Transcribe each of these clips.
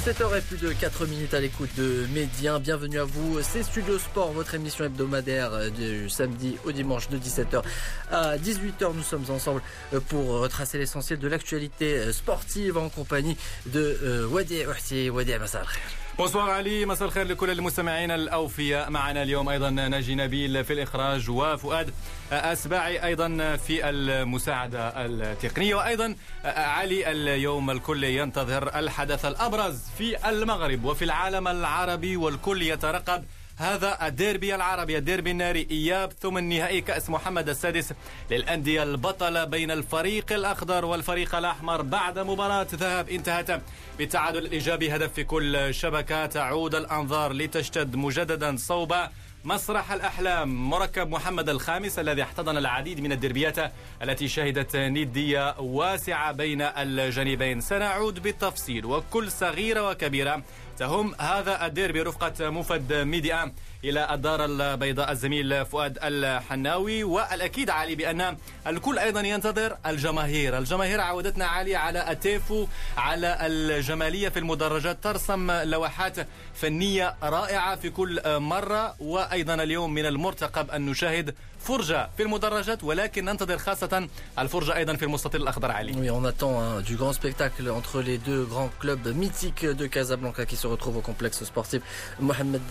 17h et plus de 4 minutes à l'écoute de Médien. Bienvenue à vous, c'est Studio Sport, votre émission hebdomadaire du samedi au dimanche de 17h à 18h. Nous sommes ensemble pour retracer l'essentiel de l'actualité sportive en compagnie de Wadi Ouhti. Wadi, مساء الخير. Bonsoir Ali, مساء الخير لكل المستمعين الأوفياء. معنا اليوم أيضا ناجي نبيل في الإخراج وفؤاد أسباعي أيضا في المساعدة التقنية، وأيضا علي اليوم الكل ينتظر الحدث الأبرز في المغرب وفي العالم العربي، والكل يترقب هذا الديربي العربي، الديربي الناري، إياب ثمن نهائي كأس محمد السادس للأندية البطلة بين الفريق الأخضر والفريق الأحمر بعد مباراة ذهاب انتهت بالتعادل الإيجابي، هدف في كل شبكة. تعود الأنظار لتشتد مجددا صوب مسرح الأحلام، مركب محمد الخامس الذي احتضن العديد من الديربيات التي شهدت ندية واسعة بين الجانبين. سنعود بالتفصيل وكل صغيرة وكبيرة تهم هذا الديربي رفقة مفد ميديا إلى الدار البيضاء الزميل فؤاد الحناوي. والأكيد علي بأن الكل أيضا ينتظر الجماهير عودتنا علي على التيفو، على الجمالية في المدرجات، ترسم لوحات فنية رائعة في كل مرة. وأيضا اليوم من المرتقب أن نشاهد فرجة في المدرجات، ولكن ننتظر خاصة الفرجة أيضا في المستطيل الأخضر علي. Oui, on attend du grand spectacle entre les deux grands clubs mythiques de Casablanca qui se retrouvent au complexe sportif Mohamed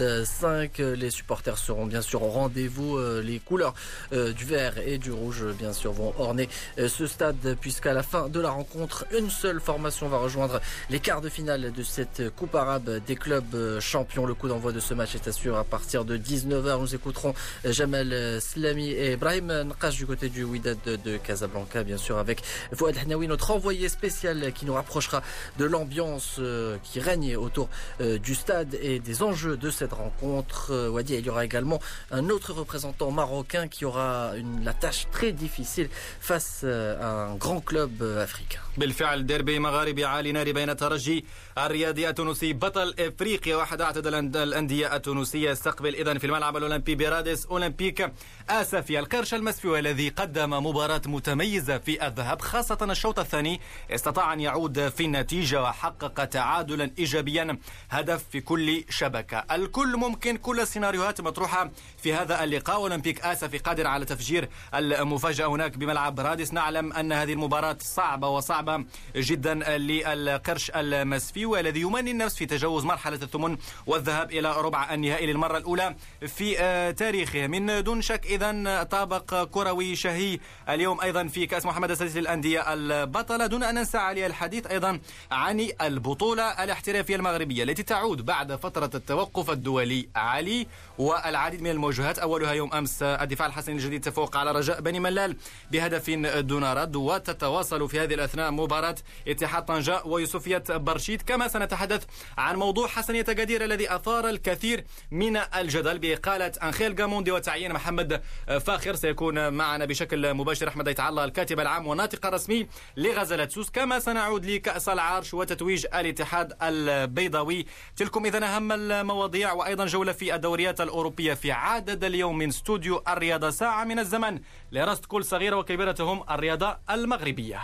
V. Les supporters seront bien sûr au rendez-vous. Les couleurs du vert et du rouge bien sûr vont orner ce stade, puisqu'à la fin de la rencontre, une seule formation va rejoindre les quarts de finale de cette Coupe arabe des clubs champions. Le coup d'envoi de ce match est assuré à partir de 19h. Nous écouterons Jamal Slami et Brahim Nqash du côté du Wydad de Casablanca, bien sûr avec Fouad Hnaoui, notre envoyé spécial qui nous rapprochera de l'ambiance qui règne autour du stade et des enjeux de cette rencontre. Wadi, il y aura également un autre représentant marocain qui aura la tâche très difficile face à un grand club africain. بالفعل ديربي مغاربي عالي ناري بين الترجي الرياضي التونسي بطل افريقيا واحد اعتد الانديه التونسيه، يستقبل اذا في الملعب الاولمبي برادس اولمبيك اسفي القرش المسفي الذي قدم مباراه متميزه في الذهاب، خاصه الشوط الثاني استطاع ان يعود في النتيجه وحقق تعادلا ايجابيا، هدف في كل شبكه. الكل ممكن، كل السيناريوهات مطروحه في هذا اللقاء. اولمبيك اسفي قادر على تفجير المفاجاه هناك بملعب رادس. نعلم ان هذه المباراه صعبه جدا للقرش المسفي والذي يمني النفس في تجاوز مرحلة الثمن والذهاب إلى ربع النهائي للمرة الأولى في تاريخه. من دون شك إذن طابق كروي شهي اليوم أيضا في كأس محمد السادس للأندية البطلة، دون أن ننسى علي الحديث أيضا عن البطولة الاحترافية المغربية التي تعود بعد فترة التوقف الدولي علي، والعديد من المواجهات أولها يوم أمس الدفاع الحسني الجديد تفوق على رجاء بني ملال بهدف دون رد، وتتواصل في هذه الأثناء مباراة اتحاد طنجة ويوسفية برشيد. كما سنتحدث عن موضوع حسنية قدير الذي أثار الكثير من الجدل بإقالة أنخيل غاموندي وتعيين محمد فاخر. سيكون معنا بشكل مباشر أحمد أيت الله الكاتب العام والناطق الرسمي لغزالة سوس. كما سنعود لكأس العرش وتتويج الاتحاد البيضاوي. تلكم إذن أهم المواضيع، وأيضا جولة في الدوريات الأوروبية في عدد اليوم من استوديو الرياضة، ساعة من الزمن لرصد كل صغيرة وكبيرتهم الرياضة المغربية.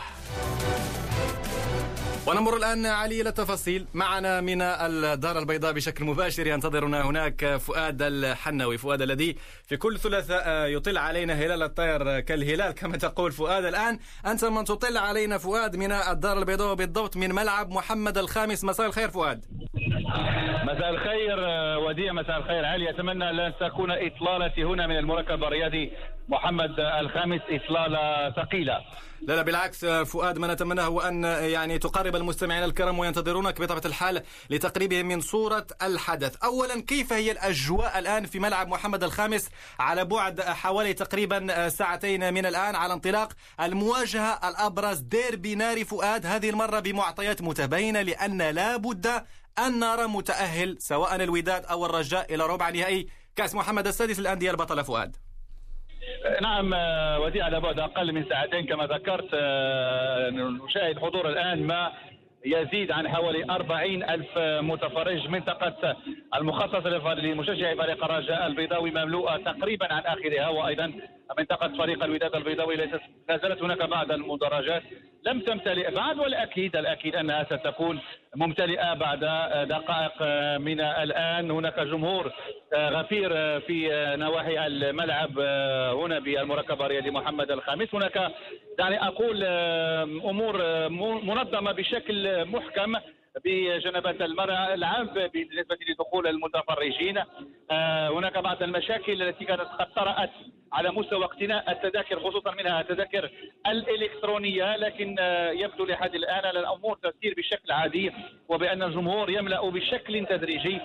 ونمر الآن علي إلى التفاصيل. معنا من الدار البيضاء بشكل مباشر ينتظرنا هناك فؤاد الحناوي، فؤاد الذي في كل ثلاثاء يطل علينا هلال الطير كالهلال كما تقول فؤاد. الآن أنت من تطل علينا فؤاد من الدار البيضاء وبالضبط من ملعب محمد الخامس. مساء الخير فؤاد. مساء الخير وديع، مساء الخير علي. أتمنى أن تكون إطلالتي هنا من المركب الرياضي محمد الخامس إطلالة ثقيلة. لا بالعكس فؤاد، ما نتمناه هو أن يعني تقرب المستمعين الكرام وينتظرونك بطبيعة الحال لتقريبهم من صورة الحدث. أولا، كيف هي الأجواء الآن في ملعب محمد الخامس على بعد حوالي تقريبا ساعتين من الآن على انطلاق المواجهة الأبرز ديربي ناري فؤاد، هذه المرة بمعطيات متباينة لأن لا بد أن نرى متأهل سواء الوداد أو الرجاء إلى ربع نهائي كأس محمد السادس للأندية البطلة فؤاد. نعم وديع، على بعد أقل من ساعتين كما ذكرت نشاهد حضور الآن ما يزيد عن حوالي 40,000 متفرج. منطقة المخصصة لمشجعي فريق الرجاء البيضاوي مملوءة تقريبا عن آخرها، وأيضا منطقة فريق الوداد البيضاوي لا زالت هناك بعض المدرجات لم تمتلئ بعد، والأكيد أنها ستكون ممتلئة بعد دقائق من الآن. هناك جمهور غفير في نواحي الملعب هنا بالمركب الرياضي محمد الخامس. هناك دعني أقول أمور منظمة بشكل محكم بجنبات الملعب بالنسبة لدخول المتفرجين. هناك بعض المشاكل التي كانت قد طرأت على مستوى اقتناء التذاكر، خصوصا منها التذاكر الإلكترونية، لكن يبدو لحد الآن أن الأمور تسير بشكل عادي، وبأن الجمهور يملأ بشكل تدريجي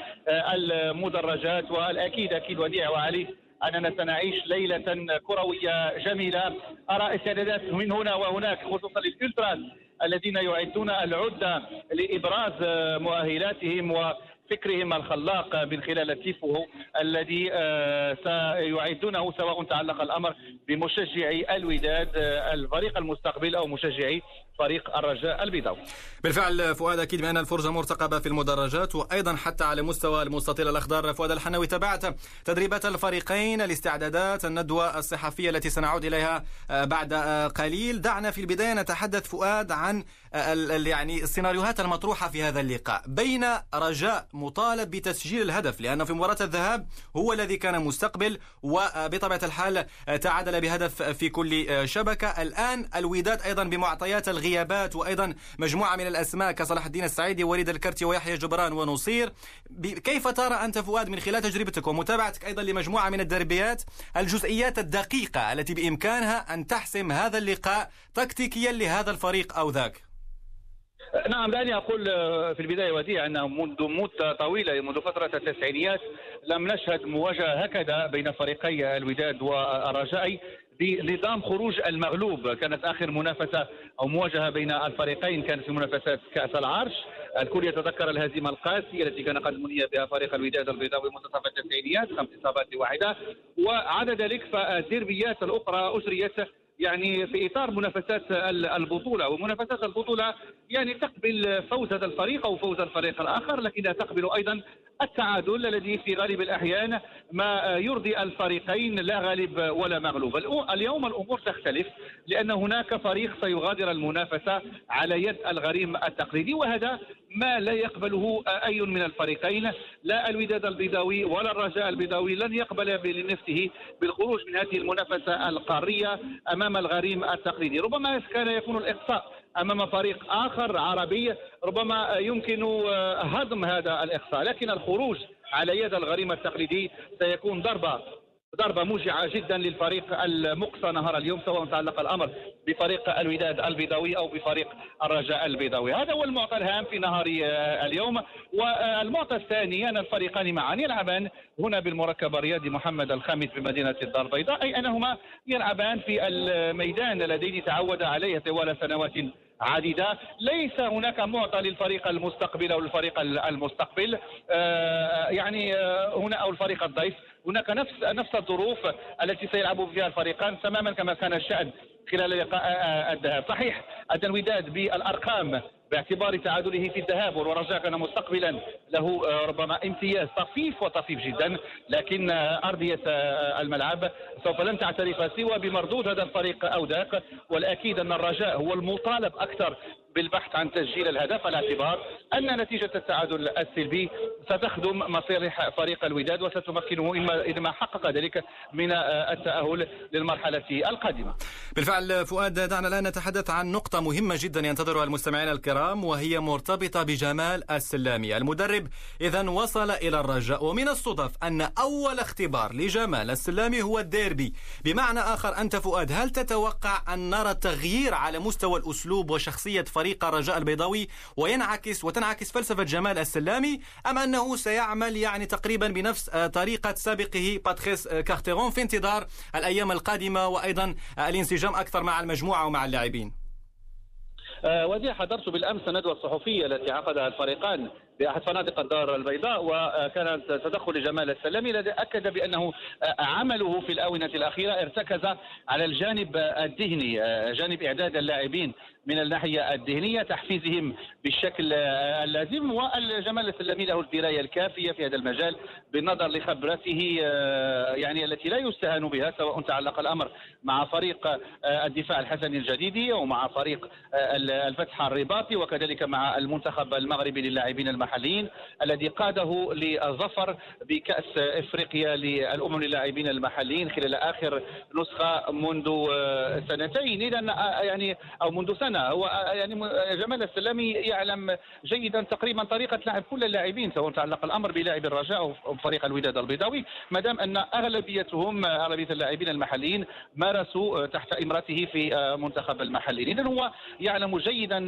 المدرجات. والأكيد وديع وعلي أننا سنعيش ليلة كروية جميلة. أرى استعدادات من هنا وهناك، خصوصا للإلتراس الذين يعدون العدة لإبراز مؤهلاتهم وفكرهم الخلاق من خلال التيفو الذي سيعدونه، سواء تعلق الأمر بمشجعي الوداد الفريق المستقبل أو مشجعي فريق الرجاء البيضاوي. بالفعل فؤاد، أكيد بأن الفرجة مرتقبة في المدرجات وأيضا حتى على مستوى المستطيل الأخضر. فؤاد الحناوي، تابعت تدريبات الفريقين، الاستعدادات، الندوة الصحفية التي سنعود إليها بعد قليل. دعنا في البداية نتحدث فؤاد عن يعني السيناريوهات المطروحة في هذا اللقاء. بين رجاء مطالب بتسجيل الهدف لأنه في مباراة الذهاب هو الذي كان مستقبل وبطبيعة الحال تعادل بهدف في كل شبكة. الآن الوداد أيضا بمعطيات الغيابات وأيضا مجموعة من الأسماء كصلاح الدين السعيدي ووليد الكرتي ويحيى جبران ونصير. كيف ترى أنت فؤاد من خلال تجربتك ومتابعتك أيضا لمجموعة من الدربيات الجزئيات الدقيقة التي بإمكانها أن تحسم هذا اللقاء تكتيكيا لهذا الفريق أو ذاك؟ نعم، دعني أقول في البداية وديع أنه منذ مدة طويلة، منذ فترة التسعينيات لم نشهد مواجهة هكذا بين فريقي الوداد والرجاء بنظام خروج المغلوب. كانت آخر منافسة أو مواجهة بين الفريقين كانت في منافسات كأس العرش. الكل يتذكر الهزيمة القاسية التي كان قد مني بها فريق الوداد البيضاوي منتصف التسعينيات، 5 إصابات لواحدة. وعدا ذلك فالديربيات الأخرى أجريت يعني في إطار منافسات البطولة، ومنافسات البطولة يعني تقبل فوز هذا الفريق أو فوز الفريق الآخر، لكنها تقبل أيضا التعادل الذي في غالب الأحيان ما يرضي الفريقين، لا غالب ولا مغلوب. اليوم الأمور تختلف لأن هناك فريق سيغادر المنافسة على يد الغريم التقليدي، وهذا ما لا يقبله أي من الفريقين. لا الوداد البيضاوي ولا الرجاء البيضاوي لن يقبل لنفسه بالخروج من هذه المنافسة القارية أمام الغريم التقليدي. ربما كان يكون الإقصاء أمام فريق آخر عربي، ربما يمكن هضم هذا الإقصاء، لكن الخروج على يد الغريم التقليدي سيكون ضربة موجعة جدا للفريق المقصى نهار اليوم، سواء تعلق الأمر بفريق الوداد البيضاوي أو بفريق الرجاء البيضاوي. هذا هو المعطى الهام في نهار اليوم. والمعطى الثاني أن الفريقان معا يلعبان هنا بالمركب الرياضي محمد الخامس بمدينة الدار البيضاء، أي أنهما يلعبان في الميدان الذي تعود عليه طوال سنوات عديدة. ليس هناك معطى للفريق المستقبل أو الفريق المستقبل يعني هنا أو الفريق الضيف. هناك نفس الظروف التي سيلعب فيها الفريقان تماما كما كان الشأن خلال لقاء الذهاب. صحيح أن الوداد بالأرقام باعتبار تعادله في الذهاب والرجاء كان مستقبلا له ربما امتياز طفيف جدا، لكن أرضية الملعب سوف لن تعترف سوى بمردود هذا الفريق أو ذاك. والأكيد أن الرجاء هو المطالب أكثر بالبحث عن تسجيل الهدف، على اعتبار أن نتيجة التعادل السلبي ستخدم مصالح فريق الوداد وستمكنه إذا ما حقق ذلك من التأهل للمرحلة القادمة. بالفعل فؤاد، دعنا الآن نتحدث عن نقطة مهمة جدا ينتظرها المستمعين الكرام، وهي مرتبطة بجمال السلامي. المدرب إذن وصل إلى الرجاء، ومن الصدف أن أول اختبار لجمال السلامي هو الديربي. بمعنى آخر أنت فؤاد، هل تتوقع أن نرى تغيير على مستوى الأسلوب وشخصية فريق الرجاء البيضاوي وتنعكس فلسفة جمال السلامي، أم أنه سيعمل يعني تقريبا بنفس طريقة سابقه باتريس كارتيرون في انتظار الأيام القادمة وأيضا الانسجام أكثر مع المجموعة ومع اللاعبين؟ ودي حضرت بالأمس الندوة الصحفية التي عقدها الفريقان بأحد فنادق الدار البيضاء، وكان تدخل جمال السلامي الذي أكد بأنه عمله في الآونة الأخيرة ارتكز على الجانب الذهني، جانب إعداد اللاعبين من الناحية الذهنية، تحفيزهم بالشكل اللازم. والجمال السلامي له الدراية الكافية في هذا المجال بالنظر لخبرته يعني التي لا يستهان بها، سواء تعلق الأمر مع فريق الدفاع الحسني الجديدي ومع فريق الفتح الرباطي، وكذلك مع المنتخب المغربي للاعبين المحليين الذي قاده للظفر بكأس إفريقيا للأمم للاعبين المحليين خلال آخر نسخة منذ سنتين، إذا يعني أو منذ سنة. هو يعني جمال السلامي يعلم جيدا تقريبا طريقة لعب كل اللاعبين، سواء تعلق الأمر بلاعب الرجاء أو فريق الوداد البيضاوي، ما دام أن أغلبية اللاعبين المحليين مارسوا تحت إمرته في منتخب المحليين. إذن هو يعلم جيدا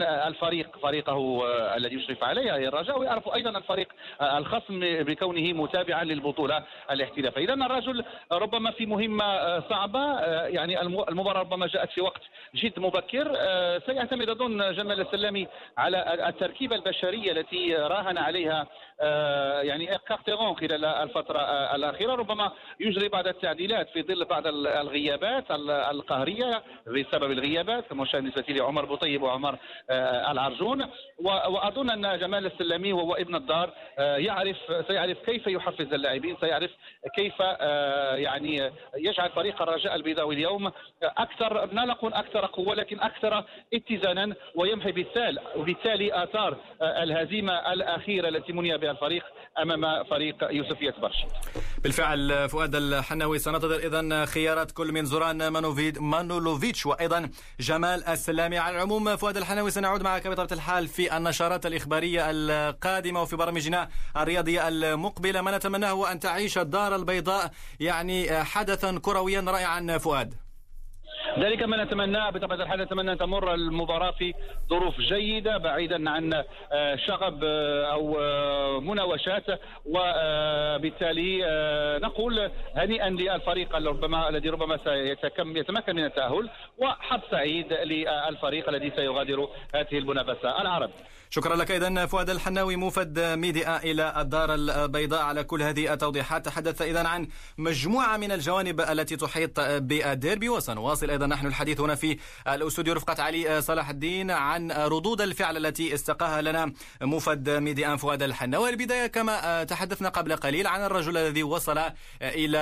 فريقه الذي يشرف عليه الرجاء، ويعرف أيضا الفريق الخصم بكونه متابعا للبطولة الاحترافية. إذن الرجل ربما في مهمة صعبة، يعني المباراة ربما جاءت في وقت جد مبكر. سيعتمد أظن جمال السلامي على التركيبة البشرية التي راهن عليها يعني كارتيرون خلال الفترة الأخيرة. ربما يجري بعض التعديلات في ظل بعض الغيابات القهرية بسبب الغيابات، كما بالنسبة لعمر بوطيب وعمر العرجون. وأظن أن جمال السلامي وهو ابن الدار سيعرف كيف يحفز اللاعبين، سيعرف كيف يعني يجعل فريق الرجاء البيضاوي اليوم أكثر، لا نقول أكثر قوة لكن أكثر اتزانا، ويمحي بالتالي آثار الهزيمة الأخيرة التي مني بها الفريق أمام فريق يوسفية برشيد. بالفعل فؤاد الحناوي، سننتظر إذن خيارات كل من زوران مانولوفيتش وأيضا جمال السلامي. على العموم فؤاد الحناوي سنعود معك بطبيعة الحال في النشرات الإخبارية القادمة وفي برامجنا الرياضية المقبلة. ما نتمناه هو أن تعيش الدار البيضاء يعني حدثا كرويا رائعا فؤاد. ذلك ما نتمناه بطبيعة الحال. نتمنى أن تمر المباراة في ظروف جيدة بعيدا عن شغب أو مناوشات، وبالتالي نقول هنيئا للفريق الذي ربما سيتمكن من التأهل، وحظ سعيد للفريق الذي سيغادر هذه المنافسة العربية. شكرا لك إذن فؤاد الحناوي موفد ميديا إلى الدار البيضاء على كل هذه التوضيحات. تحدث إذن عن مجموعة من الجوانب التي تحيط بالديربي، وسنواصل أيضا نحن الحديث هنا في الأستوديو رفقة علي صلاح الدين عن ردود الفعل التي استقاها لنا موفد ميديا فؤاد الحناوي. البداية كما تحدثنا قبل قليل عن الرجل الذي وصل إلى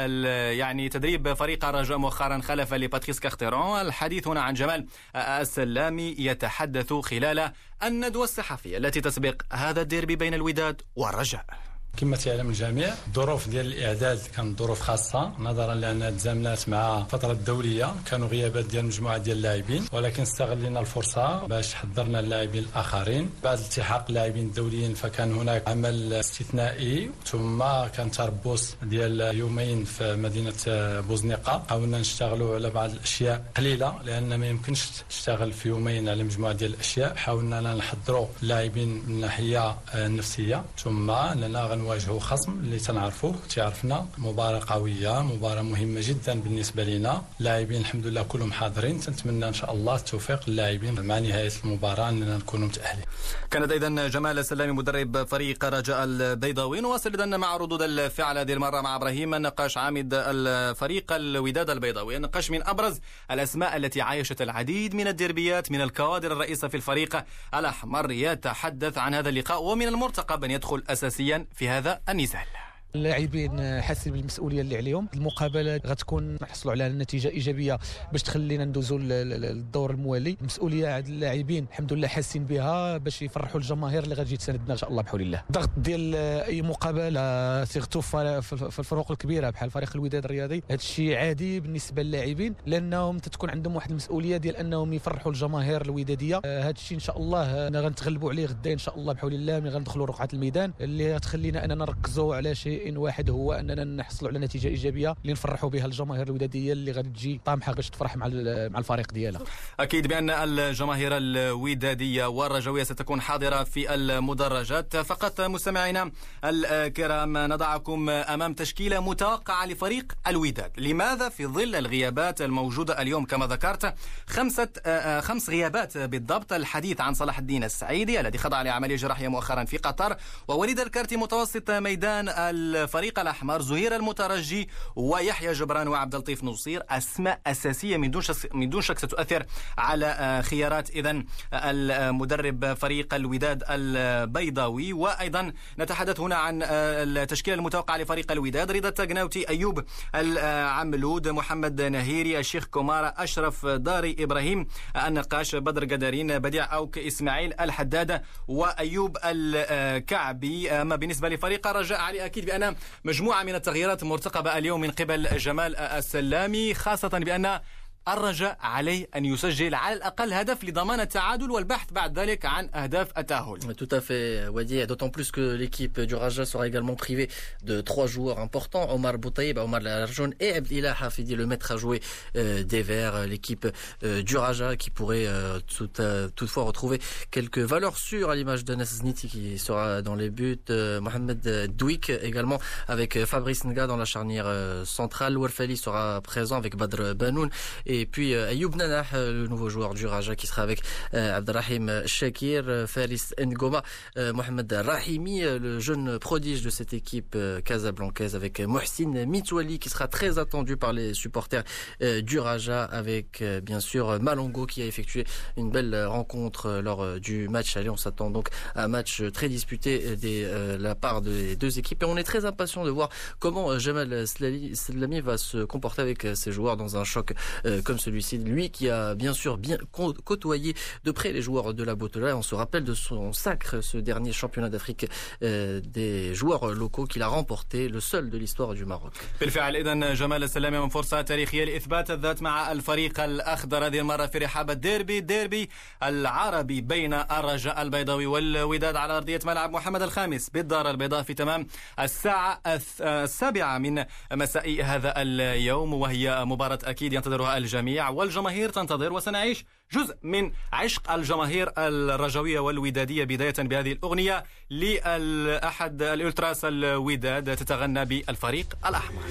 يعني تدريب فريق الرجاء مؤخرا خلف لباتريس كارتيرون. الحديث هنا عن جمال السلامي يتحدث خلال الندوة الصحفية التي تسبق هذا الديربي بين الوداد والرجاء. كما تعلم الجميع الظروف ديال الاعداد كانت ظروف خاصه نظرا لانها تزامنات مع فتره دوليه، كانوا غيابات ديال مجموعه ديال اللاعبين، ولكن استغلينا الفرصه باش حضرنا اللاعبين الاخرين. بعد التحاق اللاعبين الدوليين فكان هناك عمل استثنائي، ثم كان تربص ديال يومين في مدينه بوزنيقه. حاولنا نشتغلوا على بعض الاشياء قليله لان ما يمكنش تشتغل في يومين على مجموعه ديال الاشياء. حاولنا نحضروا اللاعبين من الناحيه النفسيه، ثم اننا نواجهوا خصم اللي تنعرفوه تعرفنا. مباراة قوية، مباراة مهمة جدا بالنسبة لنا. لاعبين الحمد لله كلهم حاضرين، تنتمنى إن شاء الله التوفيق للاعبين مع نهاية المباراة أننا نكونوا متأهلين. كانت أيضا جمال السلامي مدرب فريق رجاء البيضاوي. نواصل إذن مع ردود الفعل هذه المرة مع إبراهيم النقاش عامد الفريق الوداد البيضاوي. النقاش من أبرز الأسماء التي عايشت العديد من الديربيات من الكوادر الرئيسة في الفريق الأحمر، يتحدث عن هذا اللقاء ومن المرتقب أن يدخل أساسيا في هذا النزال. اللاعبين حاسين بالمسؤوليه اللي عليهم. المقابله غتكون نحصلوا على نتيجه ايجابيه باش تخلينا ندوزوا للدور الموالي. المسؤوليه عند اللاعبين الحمد لله حاسين بها باش يفرحوا الجماهير اللي غتجي تساندنا ان شاء الله بحول الله. الضغط ديال اي مقابله سيغتو في الفروق الكبيره بحال فريق الوداد الرياضي، هذا الشيء عادي بالنسبه للاعبين لانهم تتكون عندهم واحد المسؤوليه ديال انهم يفرحوا الجماهير الوداديه. هذا الشيء ان شاء الله غنتغلبوا عليه غدا ان شاء الله بحول الله، ملي غندخلوا رقعه الميدان اللي غتخلينا اننا نركزوا على شيء شيء واحد، هو اننا نحصلوا على نتيجه ايجابيه اللي نفرحوا بها الجماهير الوداديه اللي غادي تجي طامحه باش تفرح مع الفريق ديالها. اكيد بان الجماهير الوداديه والرجويه ستكون حاضره في المدرجات. فقط مستمعينا الكرام نضعكم امام تشكيله متوقعه لفريق الوداد. لماذا؟ في ظل الغيابات الموجوده اليوم كما ذكرت، خمس غيابات بالضبط. الحديث عن صلاح الدين السعيدي الذي خضع لعمليه جراحيه مؤخرا في قطر، ووليد الكارتي متوسط ميدان الفريق الاحمر، زهير المترجي ويحيى جبران وعبد اللطيف نصير. اسماء اساسيه من دون شك ستؤثر على خيارات اذن المدرب فريق الوداد البيضاوي. وايضا نتحدث هنا عن التشكيله المتوقعه لفريق الوداد: رضا التقناوتي، ايوب العملود، محمد نهيري، الشيخ كومارا، اشرف داري، ابراهيم النقاش، بدر قدرين، بديع اوك، اسماعيل الحداد وايوب الكعبي. اما بالنسبه لفريق الرجاء، علي اكيد بان مجموعه من التغييرات مرتقبه اليوم من قبل جمال السلامي، خاصه بان الرجاء عليه أن يسجل على الأقل هدف لضمان التعادل والبحث بعد ذلك عن أهداف التأهل. Tout à fait, Wadi, d'autant plus que l'équipe du Raja sera également privée de 3 joueurs importants, Omar Boutaïb, Omar Larjoun et Abdelillah Hafidi, le maître à jouer des Verts, l'équipe du Raja qui pourrait toutefois retrouver quelques valeurs sûres à l'image de Zniti qui sera dans les buts, Mohamed Douik également avec Fabrice Nga dans la charnière centrale, Warfali sera présent avec Badr Banoun. Et puis Ayoub Nanah, le nouveau joueur du Raja qui sera avec Abdelrahim Shakir, Faris Ngoma, Mohamed Rahimi, le jeune prodige de cette équipe casablancaise, avec Mohsin Mitouali qui sera très attendu par les supporters du Raja, avec bien sûr Malongo qui a effectué une belle rencontre lors du match aller. On s'attend donc à un match très disputé de la part des deux équipes et on est très impatient de voir comment Jamal Slami va se comporter avec ses joueurs dans un choc comme celui-ci, lui qui a bien sûr bien côtoyé de près les joueurs de la Botola. On se rappelle de son sacre, ce dernier championnat d'Afrique des joueurs locaux qu'il a remporté, le seul de l'histoire du Maroc. بالفعل إذن جمال السلامي من فرصة تاريخية لإثبات الذات مع الفريق الأخضر، هذه المرة في رحاب الديربي العربي بين الرجاء البيضاوي والوداد على أرضية ملعب محمد الخامس بالدار البيضاء في تمام الساعة 7 من مساء هذا اليوم، وهي مباراة أكيد ينتظرها الجميع والجماهير تنتظر، وسنعيش جزء من عشق الجماهير الرجوية والودادية بداية بهذه الأغنية لأحد الألتراس الوداد تتغنى بالفريق الأحمر.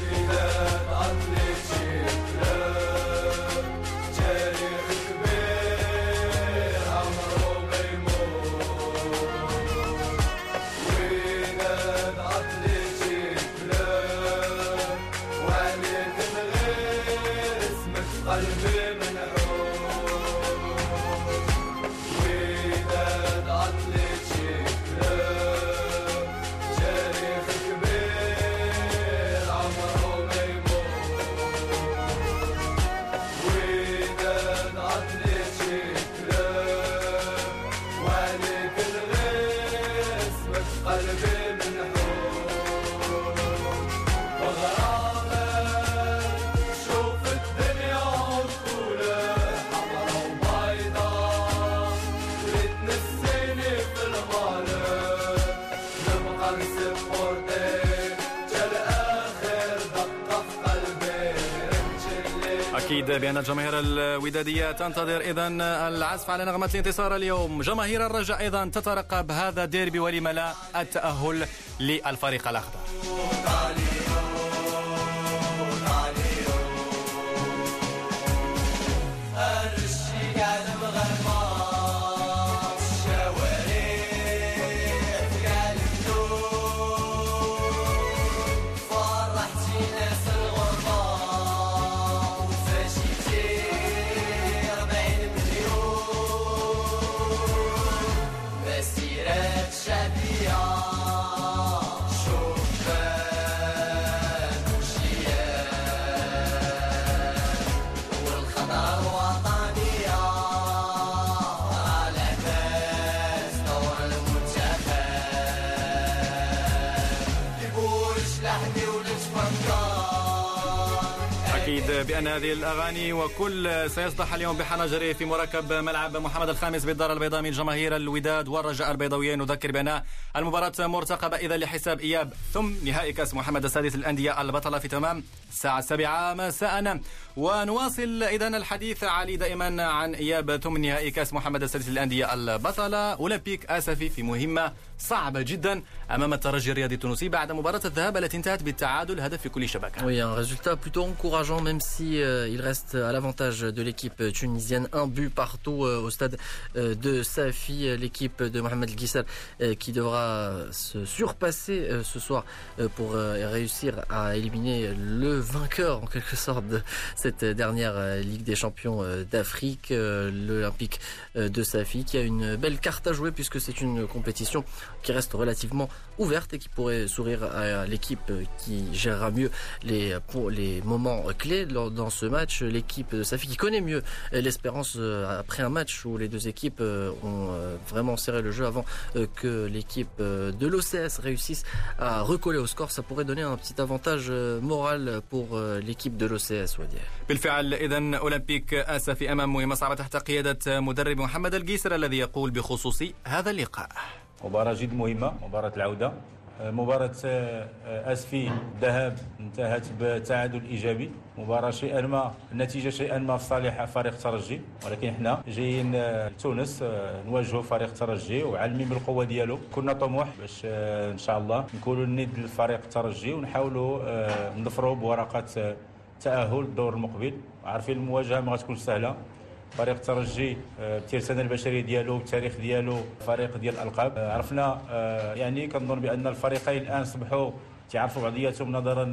أكيد بأن الجماهير الودادية تنتظر إذن العزف على نغمة الانتصار اليوم. جماهير الرجاء أيضا تترقب هذا الديربي ولم لا التأهل للفريق الأخضر. أكيد بأن هذه الأغاني وكل سيصدح اليوم بحنجره في مركب ملعب محمد الخامس بالدار البيضاء من جماهير الوداد والرجاء البيضاويين. نذكر بأن المباراة مرتقبة إذا لحساب إياب ثم نهائي كأس محمد السادس للأندية البطلة في تمام الساعة 7 مساء. ونواصل إذا الحديث علي دائما عن إياب ثم نهائي كأس محمد السادس للأندية البطلة. أولمبيك آسفي في مهمة صعبة جدا أمام الترجي الرياضي التونسي بعد مباراة الذهاب التي انتهت بالتعادل هدف في كل شبكة. Oui, un résultat plutôt encourageant même si il reste à l'avantage de l'équipe tunisienne, un but partout au stade de Safi, l'équipe de Mohamed El Ghissal qui devra se surpasser ce soir pour réussir à éliminer le vainqueur en quelque sorte de cette dernière Ligue des Champions d'Afrique, l'Olympique de Safi, qui a une belle carte à jouer puisque c'est une compétition qui reste relativement ouverte et qui pourrait sourire à l'équipe qui gérera mieux les moments clés dans ce match. L'équipe de Safi qui connaît mieux l'Espérance après un match où les deux équipes ont vraiment serré le jeu avant que l'équipe de l'OCS réussisse à recoller au score. Ça pourrait donner un petit avantage moral pour l'équipe de l'OCS. بالفعل إذن أولمبيك آسفي أمام مهمة صعبة تحت قيادة مدرب محمد القيسر الذي يقول بخصوص هذا اللقاء: مباراة جد مهمة، مباراة العودة. مباراة آسفي الذهاب انتهت بتعادل إيجابي. مباراة شيئا ما النتيجة شيئا ما في صالح فريق الترجي، ولكن احنا جايين لتونس نواجهوا فريق الترجي وعالمين بالقوة ديالو. كنا طموح باش إن شاء الله نكونوا الند للفريق الترجي ونحاولوا نظفروا بورقات تأهل الدور المقبل. عارفين المواجهة ما غتكونش سهلة. فريق الترجي بالترسانة البشرية ديالو بالتاريخ ديالو فريق ديال الألقاب. عرفنا يعني كنظن بأن الفريقين الآن صبحوا تعرفوا بعضياتهم نظرا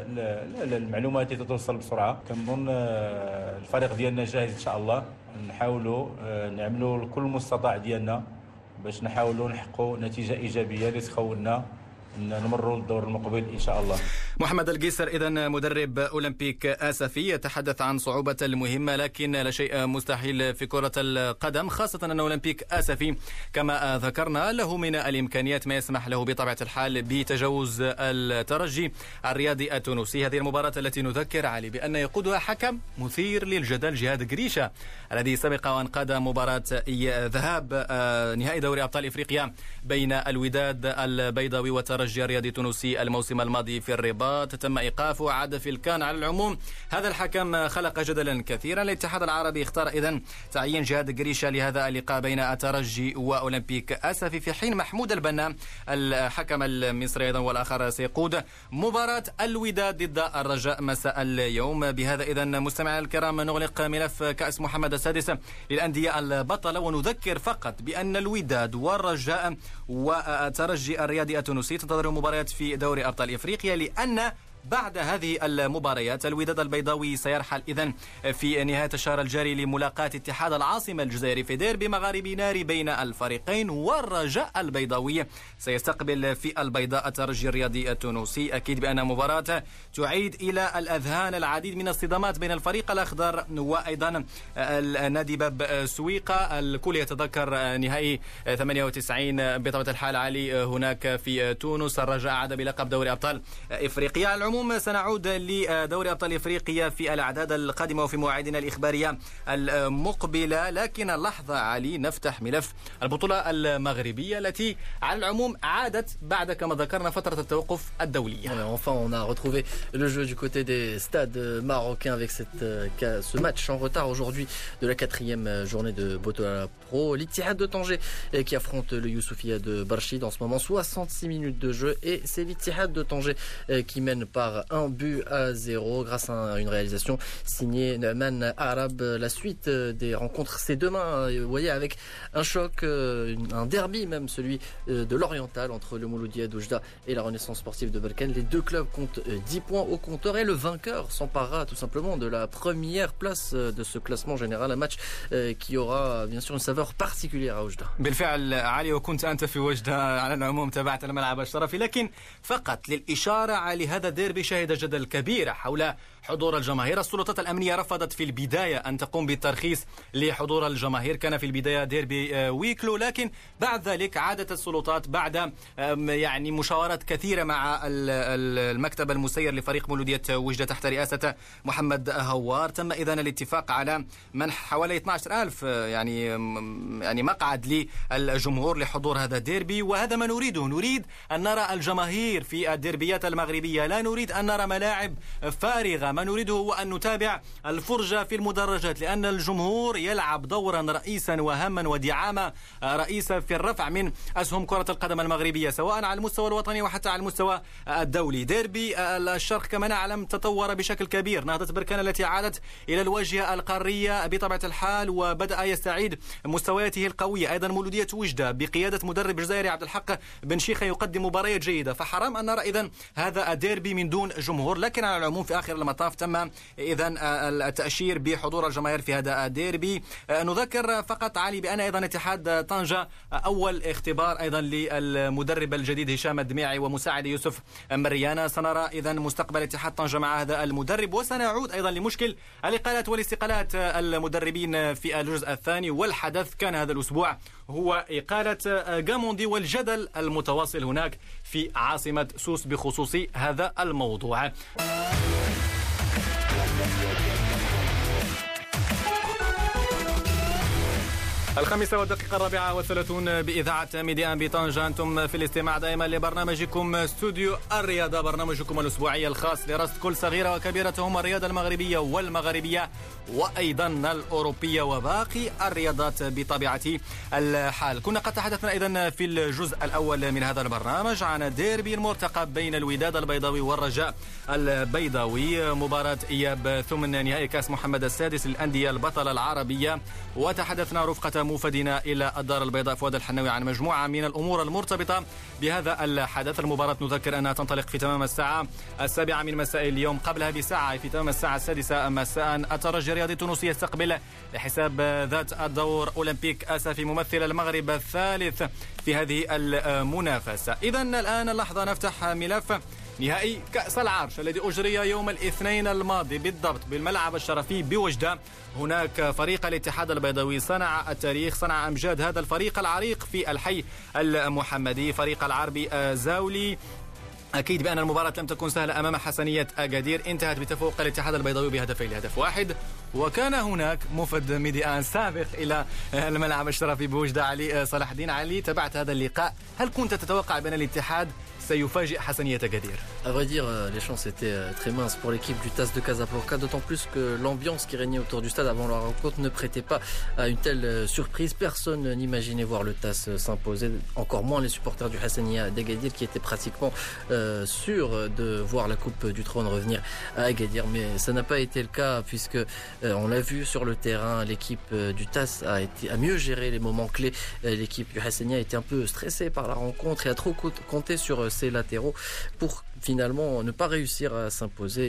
للمعلومات اللي توصل بسرعة. كنظن الفريق ديالنا جاهز إن شاء الله. نحاولوا نعملوا كل المستطاع ديالنا باش نحاولوا نحققوا نتيجة إيجابية اللي تخولنا نمروا الدور المقبل إن شاء الله. محمد القيسر إذن مدرب أولمبيك آسفي يتحدث عن صعوبة المهمة، لكن لا شيء مستحيل في كرة القدم، خاصة أن أولمبيك آسفي كما ذكرنا له من الإمكانيات ما يسمح له بطبيعة الحال بتجاوز الترجي الرياضي التونسي. هذه المباراة التي نذكر علي بأن يقودها حكم مثير للجدل جهاد قريشة الذي سبق وأن قاد مباراة ذهاب نهائي دوري أبطال إفريقيا بين الوداد البيضاوي والترجي الرياضي التونسي الموسم الماضي في الرباط. تم إيقافه عاد في الكان. على العموم هذا الحكم خلق جدلا كثيرا. الاتحاد العربي اختار إذن تعيين جهاد قريشة لهذا اللقاء بين الترجي وأولمبيك آسفي، في حين محمود البنا الحكم المصري أيضا والآخر سيقود مباراة الوداد ضد الرجاء مساء اليوم. بهذا إذن مستمعي الكرام نغلق ملف كأس محمد السادس للأندية البطلة، ونذكر فقط بأن الوداد والرجاء والترجي الرياضي التونسي تنتظر مباريات في دوري أبطال إفريقيا، لأن بعد هذه المباريات الوداد البيضاوي سيرحل إذن في نهاية الشهر الجاري لملاقاة اتحاد العاصمة الجزائري في ديربي مغاربي ناري بين الفريقين، والرجاء البيضاوي سيستقبل في البيضاء الترجي الرياضي التونسي. أكيد بأن مباراة تعيد إلى الأذهان العديد من الصدامات بين الفريق الأخضر وأيضا النادي باب سويقة. الكل يتذكر نهائي 98 بطبيعة الحال علي هناك في تونس. الرجاء عاد بلقب دوري أبطال إفريقيا. العموم سنعود لدوري أبطال إفريقيا في الأعداد القادمة وفي مواعيدنا الإخبارية المقبلة، لكن اللحظة علي نفتح ملف البطولة المغربية التي على العموم عادت بعد كما ذكرنا فترة التوقف الدولية. Enfin, on a retrouvé le jeu du côté des stades marocains avec ce match en retard aujourd'hui de la 4e journée de Botola Pro. L'Ittihad de Tanger qui affronte le Youssoufia de Barchid en ce moment, 66 minutes de jeu, et c'est l'Ittihad de Tanger qui mène par 1-0 grâce à une réalisation signée Neumann Arab. La suite des rencontres, c'est demain, vous voyez, avec un choc, un derby même, celui de l'Oriental entre le Mouloudia d'Oujda et la Renaissance sportive de Balkan. Les deux clubs comptent 10 points au compteur et le vainqueur s'emparera tout simplement de la première place de ce classement général. Un match qui aura bien sûr une saveur particulière à Oujda. بالفعل علي، وكنت أنت في وجدة على العموم، تابعت الملعب الشرفي، لكن فقط للإشارة على هذا الديربي شهد جدل كبير حول حضور الجماهير. السلطات الأمنية رفضت في البداية أن تقوم بالترخيص لحضور الجماهير، كان في البداية ديربي ويكلو، لكن بعد ذلك عادت السلطات بعد يعني مشاورات كثيرة مع المكتب المسير لفريق مولودية وجدة تحت رئاسة محمد هوار. تم إذن الاتفاق على منح حوالي 12,000 يعني مقعد للجمهور لحضور هذا الديربي، وهذا ما نريده. نريد أن نرى الجماهير في الديربيات المغربية، لا نريد أن نرى ملاعب فارغة. ما نريده هو أن نتابع الفرجة في المدرجات، لأن الجمهور يلعب دورا رئيسا وهاما ودعامة رئيسة في الرفع من أسهم كرة القدم المغربية، سواء على المستوى الوطني وحتى على المستوى الدولي. ديربي الشرق كما نعلم تطور بشكل كبير. نهضة بركان التي عادت إلى الواجهة القارية بطبيعة الحال وبدأ يستعيد مستوياته القوية. أيضا مولودية وجدة بقيادة مدرب جزائري عبد الحق بن شيخة يقدم مباريات جيدة، فحرام أن نرى إذن هذا الديربي من دون جمهور. لكن على العموم في آخر المطاف تم إذن التأشير بحضور الجماهير في هذا الديربي. نذكر فقط علي بأن أيضا اتحاد طنجة أول اختبار أيضا للمدرب الجديد هشام الدميعي ومساعد يوسف مريانا. سنرى إذن مستقبل اتحاد طنجة مع هذا المدرب، وسنعود أيضا لمشكل الإقالات والاستقالات المدربين في الجزء الثاني. والحدث كان هذا الأسبوع هو إقالة غاموندي والجدل المتواصل هناك في عاصمة سوس بخصوص هذا الموضوع. 5:34 بإذاعة ميديا بطنجة. أنتم في الاستماع دائما لبرنامجكم استوديو الرياضة، برنامجكم الأسبوعي الخاص لرصد كل صغيرة وكبيرة هم الرياضة المغربية والمغربية وأيضا الأوروبية وباقي الرياضات بطبيعة الحال. كنا قد تحدثنا أيضا في الجزء الأول من هذا البرنامج عن ديربي المرتقب بين الوداد البيضاوي والرجاء البيضاوي، مباراة إياب ثمن نهائي كأس محمد السادس للأندية البطلة العربية، وتحدثنا رفقة موفدنا إلى الدار البيضاء فؤاد الحناوي عن مجموعة من الأمور المرتبطة بهذا الحدث. المباراة نذكر أنها تنطلق في تمام الساعة 7 من مساء اليوم، قبلها بساعة في تمام الساعة 6 مساء الترجي الرياضي التونسي يستقبل لحساب ذات الدور أولمبيك أسفي ممثل المغرب الثالث في هذه المنافسة. إذن الآن اللحظة نفتح ملف نهائي كأس العرش الذي أجري يوم الاثنين الماضي بالضبط بالملعب الشرفي بوجدة. هناك فريق الاتحاد البيضاوي صنع التاريخ، صنع أمجاد هذا الفريق العريق في الحي المحمدي، فريق العربي زاولي. أكيد بأن المباراة لم تكن سهلة أمام حسنية أكادير، انتهت بتفوق الاتحاد البيضاوي بهدفين لهدف واحد. وكان هناك مفد ميديان سابق إلى الملعب الشرفي بوجدة، علي صلاح الدين. علي، تابعت هذا اللقاء، هل كنت تتوقع بأن الاتحاد سيفاجئ حسنية أكادير؟ À vrai dire, les chances étaient très minces pour l'équipe du TAS de Casablanca, d'autant plus que l'ambiance qui régnait autour du stade avant la rencontre ne prêtait pas à une telle surprise. Personne n'imaginait voir le TAS s'imposer, encore moins les supporters du Hassania d'Agadir qui étaient pratiquement sûrs de voir la Coupe du Trône revenir à Agadir. Mais ça n'a pas été le cas puisque on l'a vu sur le terrain, l'équipe du TAS a mieux géré les moments clés. L'équipe du Hassania était un peu stressée par la rencontre et a trop compté sur ses latéraux pour finalement ne pas réussir à s'imposer.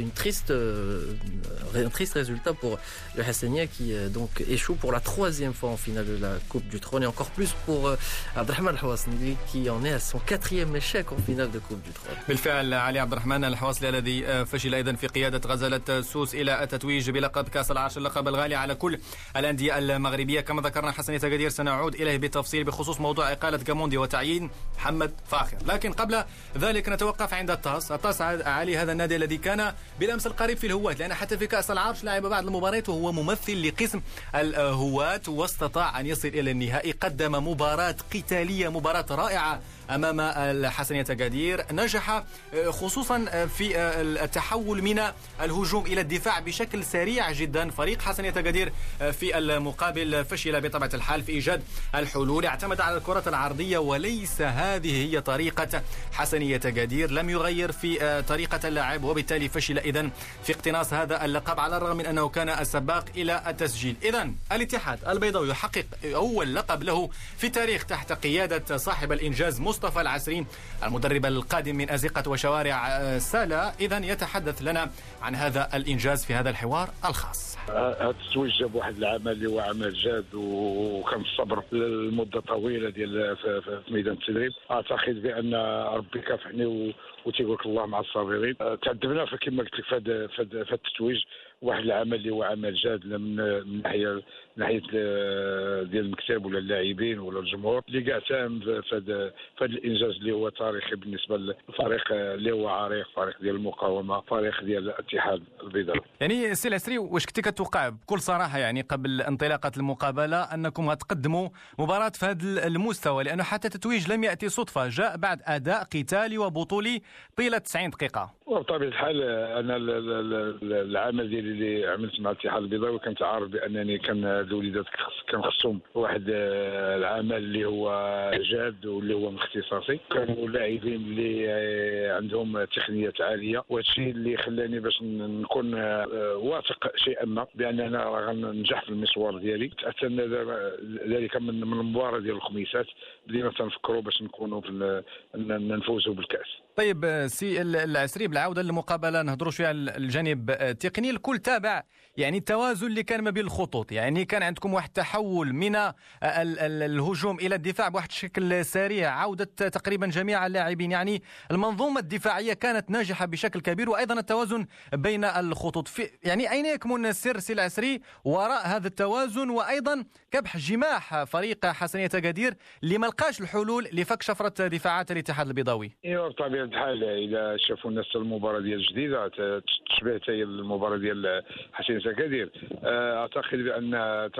Un triste résultat pour le Hassania qui donc échoue pour la 3e fois en finale de la Coupe du Trône, et encore plus pour Abdelrahman Al-Hawasni qui en est à son 4e échec en finale de Coupe du Trône. بالفعل علي عبد الرحمن الحواصلي الذي فشل أيضا في قيادة غزالة سوس إلى التتويج بلقب كأس العرش، اللقب الغالي على كل الأندية المغربية. كما ذكرنا حسنية أكادير سنعود إليه بالتفصيل بخصوص موضوع إقالة غاموندي وتعيين محمد فاخر، لكن قبل ذلك نتوقف عند الطاس علي، هذا النادي الذي كان بالأمس القريب في الهواة، لأن حتى في كأس العرش لعب بعض المباريات وهو ممثل لقسم الهواة واستطاع أن يصل إلى النهائي. قدم مباراة قتالية، مباراة رائعة أمام الحسنية أكادير، نجح خصوصا في التحول من الهجوم إلى الدفاع بشكل سريع جدا. فريق حسنية أكادير في المقابل فشل بطبيعة الحال في إيجاد الحلول، اعتمد على الكرة العرضية، وليس هذه هي طريقة حسنية أكادير. لم يغير في طريقة اللعب، وبالتالي فشل إذن في اقتناص هذا اللقب على الرغم من أنه كان السباق إلى التسجيل. إذن الاتحاد البيضاوي يحقق أول لقب له في التاريخ تحت قيادة صاحب الإنجاز مصطفى العسرين، المدرب القادم من أزقة وشوارع سالا. إذن يتحدث لنا عن هذا الإنجاز في هذا الحوار الخاص. هذا التتويج جاب واحد العمل اللي هو عمل جاد وكان الصبر لمده طويله ديال في ميدان التدريب. اعتقد بان ربي كيكافحني وتيقول لك الله مع الصابرين. تعذبنا كما قلت لك في هذا التتويج، واحد العمل اللي هو عمل جاد من ناحيه ديال المكتب ولا اللاعبين ولا الجمهور اللي كاع ساهم في هذا الانجاز اللي هو تاريخي بالنسبه للفريق اللي هو عريق، فريق ديال المقاومه، فريق ديال الاتحاد البيضاوي. يعني السي العسري، واش كنتي كتوقع بكل صراحه يعني قبل انطلاقه المقابله انكم غتقدموا مباراه في هذا المستوى؟ لانه حتى التتويج لم ياتي صدفه، جاء بعد اداء قتالي وبطولي طيله 90 دقيقه. وبطبيعه الحال انا العمل ديالي اللي عملت مع الاتحاد البيضاوي كنت عارف بانني كان الوليدات كان خصهم واحد العمل اللي هو جاد واللي هو من اختصاصي. كانوا لاعبين اللي عندهم تقنيات عاليه، وهذا الشيء اللي خلاني باش نكون واثق شيئا ما باننا غننجح في المشوار ديالي. تاثرنا ذلك من المباراه ديال الخميسات، بدينا تنفكروا باش نكونوا نفوزوا بالكاس. طيب سي العسري، بالعوده للمقابله نهضروا شويه على الجانب التقني. الكل تابع يعني التوازن اللي كان ما بين الخطوط، يعني كان عندكم واحد التحول من الهجوم الى الدفاع بواحد الشكل سريع، عوده تقريبا جميع اللاعبين، يعني المنظومه الدفاعيه كانت ناجحه بشكل كبير، وايضا التوازن بين الخطوط. يعني اين يكمن السر سي العسري وراء هذا التوازن، وايضا كبح جماح فريق حسنية أكادير اللي ما لقاش الحلول لفك شفره دفاعات الاتحاد البيضاوي؟ ايوا بطبيعه الحال اذا شافوا الناس المباراه ديال الجديده تشبه حتى هي المباراه ديال حسنية أكادير، اعتقد بان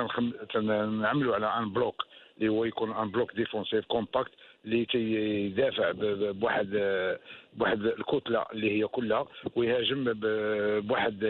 تنعملوا على ان بلوك اللي هو يكون ان بلوك ديفونسيف كومباكت اللي تيدافع بواحد الكتله اللي هي كلها، ويهاجم بواحد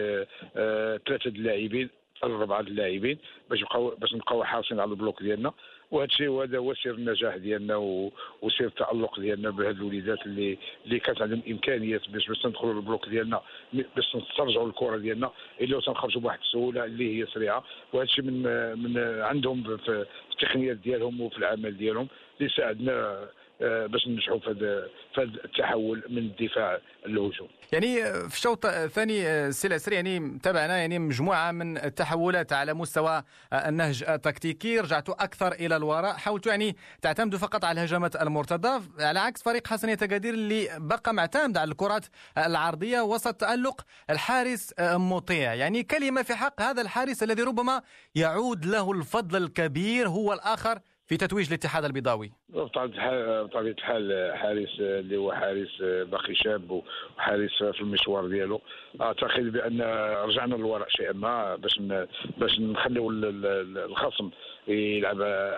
3 اللاعبين 4 اللاعبين باش نبقاو حاصلين على البلوك ديالنا. وهذا الشيء هذا هو سر النجاح ديالنا وسر التألق ديالنا بهاد الوليدات اللي كانت عندهم امكانيات باش ندخلوا للبلوك ديالنا، باش نسترجعوا الكره ديالنا اللي تنخرجوا بواحد السهوله اللي هي سريعه. وهذا الشيء من عندهم في التقنيات ديالهم وفي العمل ديالهم اللي ساعدنا باش ننجحوا في هذا التحول من الدفاع للهجوم. يعني في الشوط الثاني سي العسري يعني تابعنا يعني مجموعه من التحولات على مستوى النهج التكتيكي، رجعتوا اكثر الى الوراء، حاولتوا يعني تعتمدوا فقط على الهجمات المرتده، على عكس فريق حسنية أكادير اللي بقى معتمد على الكرات العرضيه وسط تألق الحارس مطيع. يعني كلمه في حق هذا الحارس الذي ربما يعود له الفضل الكبير هو الاخر في تتويج الاتحاد البيضاوي. بطبيعة الحال حارس اللي هو حارس باقي شاب وحارس في المشوار ديالو. اعتقد بان رجعنا للوراء شيئا ما باش نخليو الخصم يلعب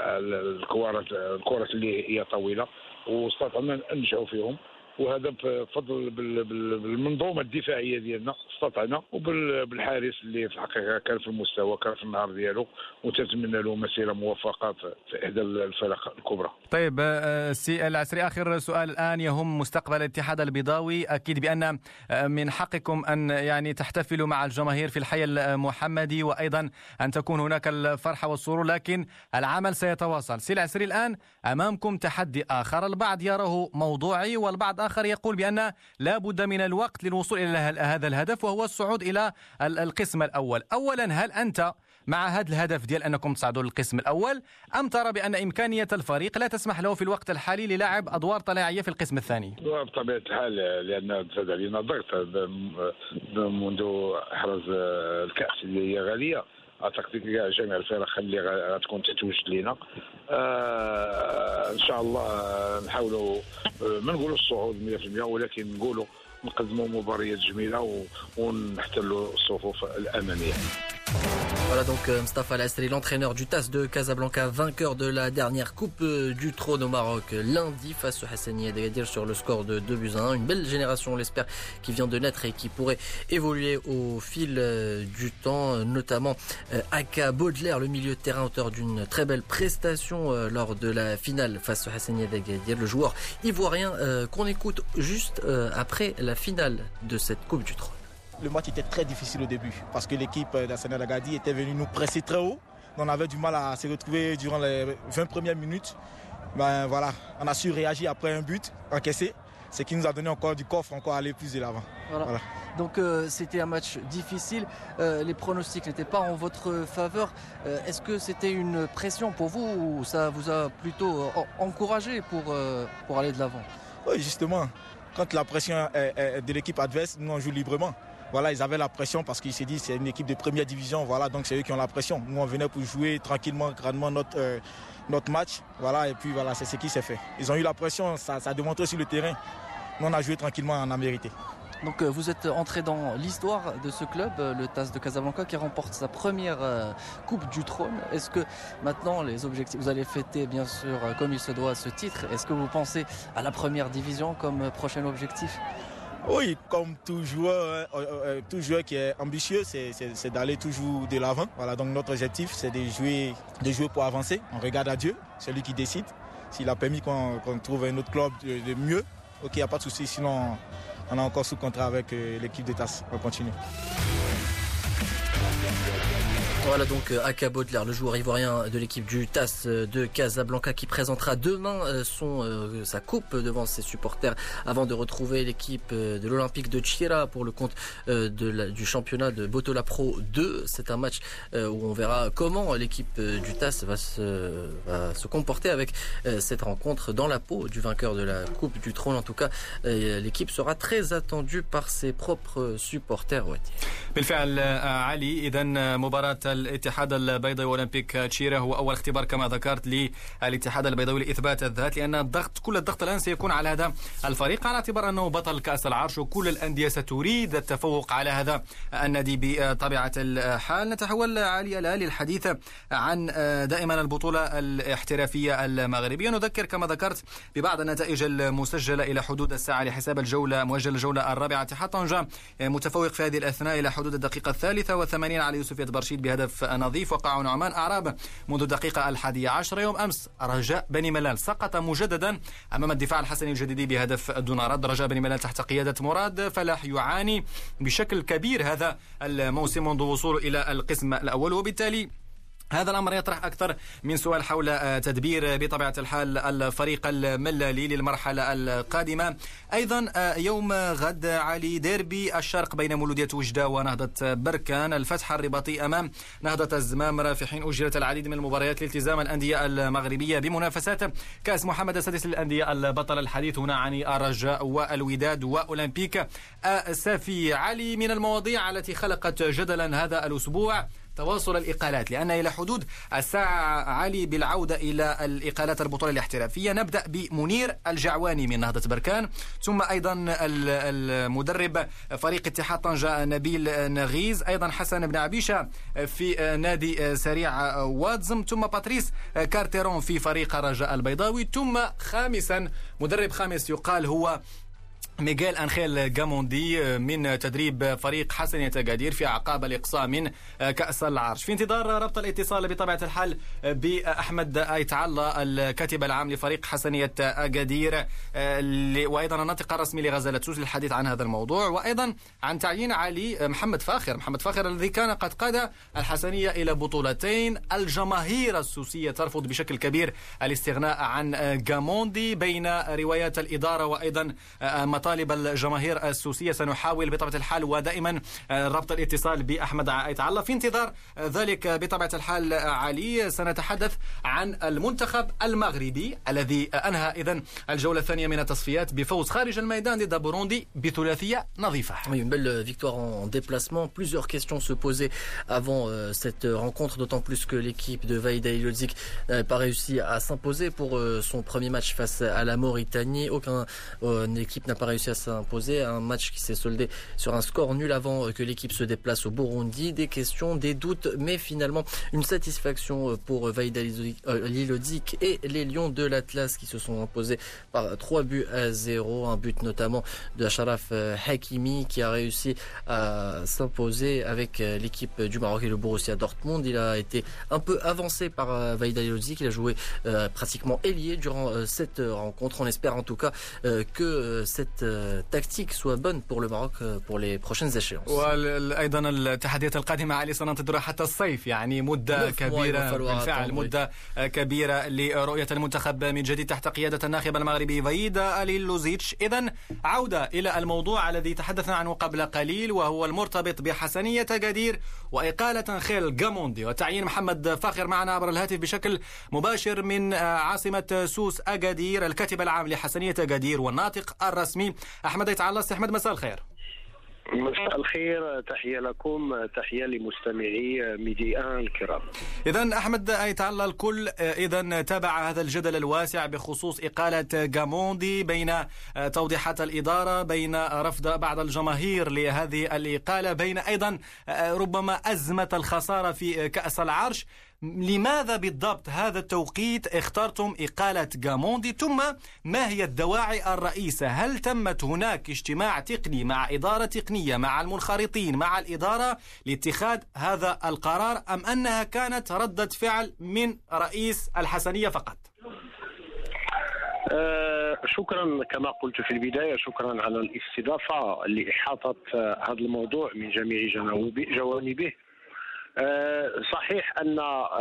الكرات اللي هي طويله، واستطعنا ننجحوا فيهم، وهذا بفضل بالمنظومه الدفاعيه ديالنا استطعنا، وبالحارس اللي في الحقيقه كان في المستوى، كان في النهار ديالو، وتتمنى له مسيره موفقه في احدى الفرق الكبرى. طيب سي العسري، اخر سؤال الان يهم مستقبل الاتحاد البيضاوي. اكيد بان من حقكم ان يعني تحتفلوا مع الجماهير في الحي المحمدي، وايضا ان تكون هناك الفرحه والسرور، لكن العمل سيتواصل. سي العسري، الان امامكم تحدي اخر، البعض يراه موضوعي والبعض آخر يقول بأن لا بد من الوقت للوصول إلى هذا الهدف، وهو الصعود إلى القسم الأول. أولا، هل أنت مع هذا الهدف ديال أنكم تصعدوا للقسم الأول، أم ترى بأن إمكانية الفريق لا تسمح له في الوقت الحالي للعب أدوار طلائعية في القسم الثاني؟ بطبيعة الحال، لأن زاد علينا ضغط منذ إحراز الكأس اللي هي غالية. اعتقد كاع جميع الفرق اللي غتكون تتوجد لينا ان شاء الله نحاولوا ما نقولوا الصعود 100%، ولكن نقولوا نقدموا مباريات جميله ونحتلوا الصفوف الاماميه. Voilà donc Mostafa El Asri, l'entraîneur du TAS de Casablanca, vainqueur de la dernière Coupe du Trône au Maroc lundi face au Hassanieh Agadir sur le score de 2-1. Une belle génération, on l'espère, qui vient de naître et qui pourrait évoluer au fil du temps, notamment Aka Baudelaire, le milieu de terrain, auteur d'une très belle prestation lors de la finale face au Hassanieh Agadir, le joueur ivoirien qu'on écoute juste après la finale de cette Coupe du Trône. Le match était très difficile au début parce que l'équipe d'Hassanieh Agadir était venue nous presser très haut. On avait du mal à se retrouver durant les 20 premières minutes. Ben voilà, on a su réagir après un but encaissé, ce qui nous a donné encore du coffre, encore aller plus de l'avant. Voilà. Donc c'était un match difficile, les pronostics n'étaient pas en votre faveur. Est-ce que c'était une pression pour vous ou ça vous a plutôt encouragé pour aller de l'avant ? Oui, justement, quand la pression est de l'équipe adverse, nous on joue librement. Voilà, ils avaient la pression parce qu'ils se disent c'est une équipe de première division, voilà, donc c'est eux qui ont la pression. Nous on venait pour jouer tranquillement, grandement notre match, voilà, et puis voilà, c'est ce qui s'est fait. Ils ont eu la pression, ça a démontré sur le terrain. Nous on a joué tranquillement, on a mérité. Donc vous êtes entré dans l'histoire de ce club, le TAS de Casablanca, qui remporte sa première Coupe du Trône. Est-ce que maintenant les objectifs, vous allez fêter bien sûr comme il se doit ce titre, est-ce que vous pensez à la première division comme prochain objectif ? Oui, comme tout joueur qui est ambitieux, c'est d'aller toujours de l'avant. Voilà, donc notre objectif c'est de jouer pour avancer. On regarde à Dieu, c'est lui qui décide. S'il a permis qu'on trouve un autre club de mieux, ok, il n'y a pas de souci, sinon on est encore sous contrat avec l'équipe de TAS. On continue. Voilà donc Aka Baudelaire, le joueur ivoirien de l'équipe du TAS de Casablanca qui présentera demain sa coupe devant ses supporters avant de retrouver l'équipe de l'Olympique de Tchira pour le compte du championnat de Botola Pro 2. C'est un match où on verra comment l'équipe du TAS va se comporter avec cette rencontre dans la peau du vainqueur de la Coupe du Trône. En tout cas, l'équipe sera très attendue par ses propres supporters. بالفعل علي إذن مباراة الاتحاد البيضاوي والأولمبيك تشيرا هو أول اختبار كما ذكرت للاتحاد البيضاوي لإثبات الذات، لأن كل الضغط الآن سيكون على هذا الفريق على اعتبار أنه بطل كأس العرش وكل الأندية ستريد التفوق على هذا النادي بطبيعة الحال. نتحول علي الآن للحديث عن دائما البطولة الاحترافية المغربية. نذكر كما ذكرت ببعض النتائج المسجلة إلى حدود الساعة لحساب الجولة الرابعة. اتحاد طنجة متفوق في هذه الأثناء إلى حدود الدقيقة 83 على يوسفية برشيد بهدف نظيف. وقع نعمان أعراب منذ الدقيقة 11. يوم أمس رجاء بني ملال سقط مجددا أمام الدفاع الحسني الجديدي بهدف دون رد. رجاء بني ملال تحت قيادة مراد فلاح يعاني بشكل كبير هذا الموسم منذ وصوله إلى القسم الأول، وبالتالي هذا الأمر يطرح أكثر من سؤال حول تدبير بطبيعة الحال الفريق الملالي للمرحلة القادمة. أيضا يوم غد علي ديربي الشرق بين مولودية وجدة ونهضة بركان، الفتح الرباطي أمام نهضة الزمامرة، في حين أجرت العديد من المباريات لالتزام الأندية المغربية بمنافسات كأس محمد السادس للأندية البطل. الحديث هنا عن الرجاء والوداد وأولمبيك سافي. علي، من المواضيع التي خلقت جدلا هذا الأسبوع تواصل الإقالات، لأن إلى حدود الساعة علي بالعودة إلى الإقالات البطولة الاحترافية. نبدأ بمنير الجعواني من نهضة بركان، ثم أيضا المدرب فريق اتحاد طنجة نبيل نغيز، أيضا حسن بن عبيشة في نادي سريع وادزم، ثم باتريس كارتيرون في فريق الرجاء البيضاوي، ثم خامسا مدرب خامس يقال هو ميغيل أنخيل غاموندي من تدريب فريق حسنية أكادير في أعقاب الإقصاء من كأس العرش. في انتظار ربط الاتصال بطبيعة الحال بأحمد آيت الله الكاتب العام لفريق حسنية أكادير، وأيضا الناطق الرسمي لغزالة سوس للحديث عن هذا الموضوع، وأيضا عن تعيين علي محمد فاخر الذي كان قد قاد الحسنية إلى بطولتين. الجماهير السوسية ترفض بشكل كبير الاستغناء عن غاموندي بين روايات الإدارة وأيضا مطالب الجماهير السوسية. سنحاول بطبيعة الحال ودائما ربط الاتصال بأحمد آيت الله. في انتظار ذلك بطبيعة الحال علي سنتحدث عن المنتخب المغربي الذي أنهى إذن الجولة الثانية من التصفيات بفوز خارج الميدان ضد بوروندي بثلاثية نظيفة. Oui, une belle victoire en déplacement. Plusieurs questions se posaient avant cette rencontre, d'autant plus que l'équipe de Vaïda Ilodzic n'avait pas réussi à s'imposer pour son premier match face à la Mauritanie. Aucune équipe n'a pas réussi à s'imposer. Un match qui s'est soldé sur un score nul avant que l'équipe se déplace au Burundi. Des questions, des doutes, mais finalement une satisfaction pour Vaïda Ilodzic et les Lions de l'Atlas qui se sont imposés par 3-0. Un but notamment de Achraf Hakimi qui a réussi à s'imposer avec l'équipe du Maroc et le Borussia Dortmund. Il a été un peu avancé par Vaïda Ilodzic. Il a joué pratiquement ailier durant cette rencontre. On espère en tout cas que cette tactique soit bonne pour le Maroc pour les prochaines échéances. وأيضا التحديات القادمة علي سننتظرها حتى الصيف، يعني مدة كبيرة بالفعل، مدة كبيرة لرؤية المنتخب من جديد تحت قيادة الناخب المغربي فايد أليلوزيتش. إذن عودة إلى الموضوع الذي تحدثنا عنه قبل قليل، وهو المرتبط بحسنية أكادير وإقالة خيل غاموندي وتعيين محمد فاخر معنا عبر الهاتف بشكل مباشر من عاصمة سوس أكادير، الكاتب العام لحسنية أكادير والناطق الرسمي أحمد أيتعالى. أحمد مساء الخير. مساء الخير، تحية لكم، تحية لمستمعي ميديا الكرام. إذن أحمد أيتعالى، الكل إذن تابع هذا الجدل الواسع بخصوص إقالة غاموندي، بين توضيحات الإدارة، بين رفض بعض الجماهير لهذه الإقالة، بين أيضا ربما أزمة الخسارة في كأس العرش. لماذا بالضبط هذا التوقيت اخترتم إقالة غاموندي؟ ثم ما هي الدواعي الرئيسة؟ هل تمت هناك اجتماع تقني مع إدارة تقنية مع المنخرطين مع الإدارة لاتخاذ هذا القرار، أم أنها كانت ردة فعل من رئيس الحسنية فقط؟ شكرا كما قلت في البداية، شكرا على الاستضافة لإحاطة هذا الموضوع من جميع جوانبه. صحيح أن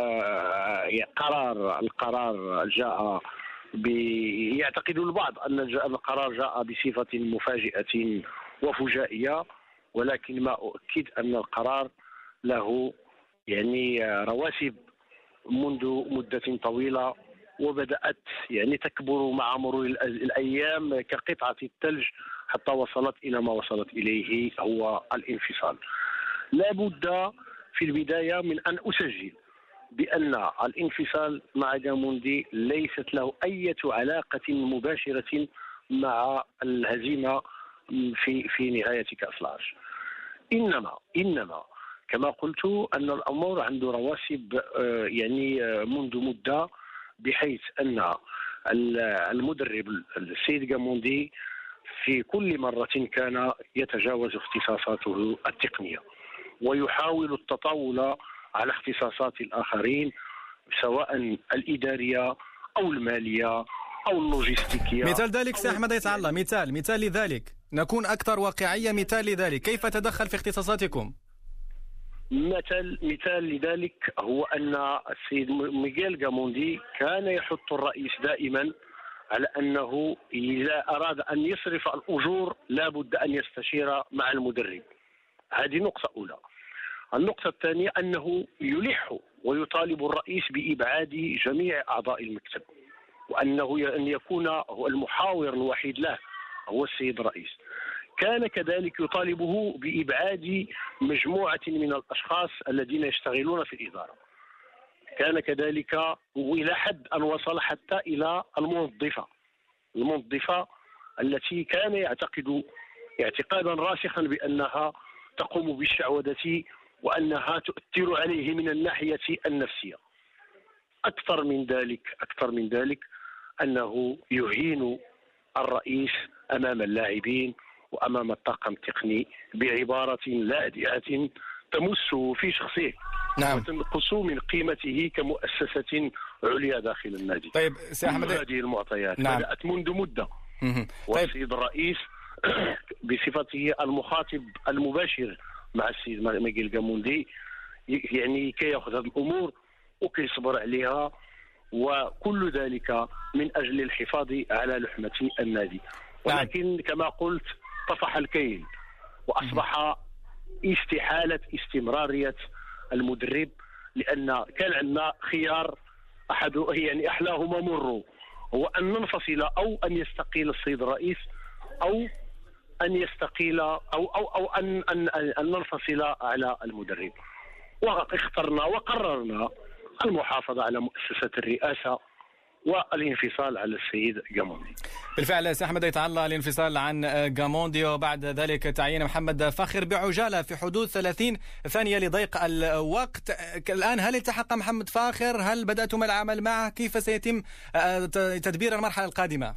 القرار جاء يعتقد البعض أن القرار جاء بصفة مفاجئة وفجائية، ولكن ما أؤكد أن القرار له يعني رواسب منذ مدة طويلة، وبدأت يعني تكبر مع مرور الأيام كقطعة الثلج حتى وصلت إلى ما وصلت إليه، هو الانفصال. لا بد في البداية من أن أسجل بأن الانفصال مع غاموندي ليست له أي علاقة مباشرة مع الهزيمة في نهاية كأس العرش. إنما كما قلت أن الأمور عنده رواسب يعني منذ مدة، بحيث أن المدرب السيد غاموندي في كل مرة كان يتجاوز اختصاصاته التقنية ويحاول التطاول على اختصاصات الآخرين، سواء الإدارية أو المالية أو اللوجستيكية. مثال ذلك سي أحمد أيتعالى، مثال لذلك، نكون أكثر واقعية. مثال لذلك كيف تدخل في اختصاصاتكم؟ مثال لذلك هو أن السيد ميغيل غاموندي كان يحث الرئيس دائما على أنه إذا أراد أن يصرف الأجور لا بد أن يستشير مع المدرب. هذه نقطة أولى. النقطة الثانية أنه يلح ويطالب الرئيس بإبعاد جميع أعضاء المكتب، وأنه أن يكون هو المحاور الوحيد له هو السيد الرئيس. كان كذلك يطالبه بإبعاد مجموعة من الأشخاص الذين يشتغلون في الإدارة. كان كذلك، وإلى حد أن وصل حتى إلى الموظفة التي كان يعتقد اعتقادا راسخا بأنها تقوم بالشعوذة وأنها تؤثر عليه من الناحية النفسية. أكثر من ذلك أنه يهين الرئيس أمام اللاعبين وأمام الطاقم التقني بعبارة لاذعة تمسه في شخصه، نعم، وتنقص من قيمته كمؤسسة عليا داخل النادي. طيب سي أحمد، هذه المعطيات نعم، بدأت منذ مدة. والسيد الرئيس بصفته المخاطب المباشر مع السيد ميغيل غاموندي يعني كي يأخذ هذه الأمور وكي يصبر عليها، وكل ذلك من أجل الحفاظ على لحمة النادي. ولكن كما قلت طفح الكيل، وأصبح استحالة استمرارية المدرب، لأن كان عندنا خيار يعني أحلاهما مر، هو أن ننفصل أو أن يستقيل السيد الرئيس، أو أن يستقيل أو أن ننفصل على المدرب. واخترنا وقررنا المحافظة على مؤسسة الرئاسة والانفصال على السيد غاموندي. بالفعل سي أحمد أيتعالى، الانفصال عن غاموندي وبعد ذلك تعيين محمد فاخر بعجالة في حدود 30 ثانية لضيق الوقت. الآن هل التحق محمد فاخر؟ هل بدأتم العمل معه؟ كيف سيتم تدبير المرحلة القادمة؟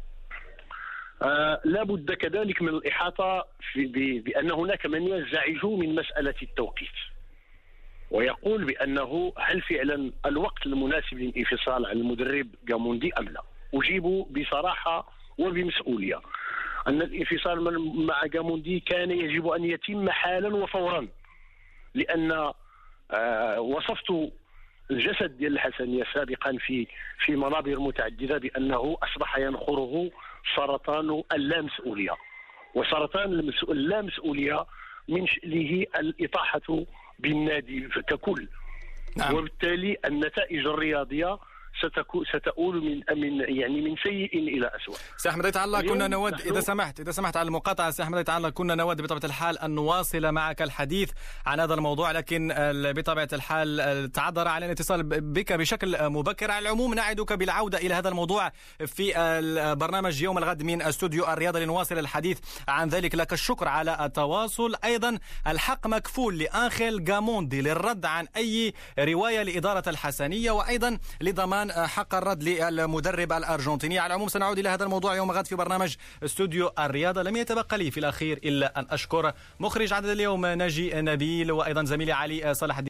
لا بد كذلك من الإحاطة بأن هناك من ينزعج من مسألة التوقيت ويقول بأنه هل فعلا الوقت المناسب للانفصال عن المدرب غاموندي أم لا؟ أجيب بصراحة وبمسؤولية. أن الانفصال مع جاموندي كان يجب أن يتم حالا وفورا، لأن وصفت الجسد ديال الحسنية سابقا في منابر متعددة بأنه أصبح ينخره سرطان اللامسؤولية، وسرطان اللامسؤولية من شأنه الإطاحة بالنادي ككل. نعم. وبالتالي النتائج الرياضية ستؤول من سيء الى اسوء. سي احمد عيط الله، كنا نود اذا سمحت على المقاطعه سي احمد عيط الله، كنا نود بطبيعه الحال ان نواصل معك الحديث عن هذا الموضوع، لكن بطبيعه الحال تعذر على الاتصال بك بشكل مبكر. على العموم نعدك بالعوده الى هذا الموضوع في البرنامج يوم الغد من استوديو الرياضه لنواصل الحديث عن ذلك. لك الشكر على التواصل. ايضا الحق مكفول لانخيل جاموندي للرد عن اي روايه لاداره الحسنيه، وايضا لضمان حق الرد للمدرب الأرجنتيني. على العموم سنعود إلى هذا الموضوع يوم غد في برنامج استوديو الرياضة. لم يتبقى لي في الأخير إلا أن أشكر مخرج عدد اليوم ناجي نبيل، وأيضا زميلي علي صلاح الدين.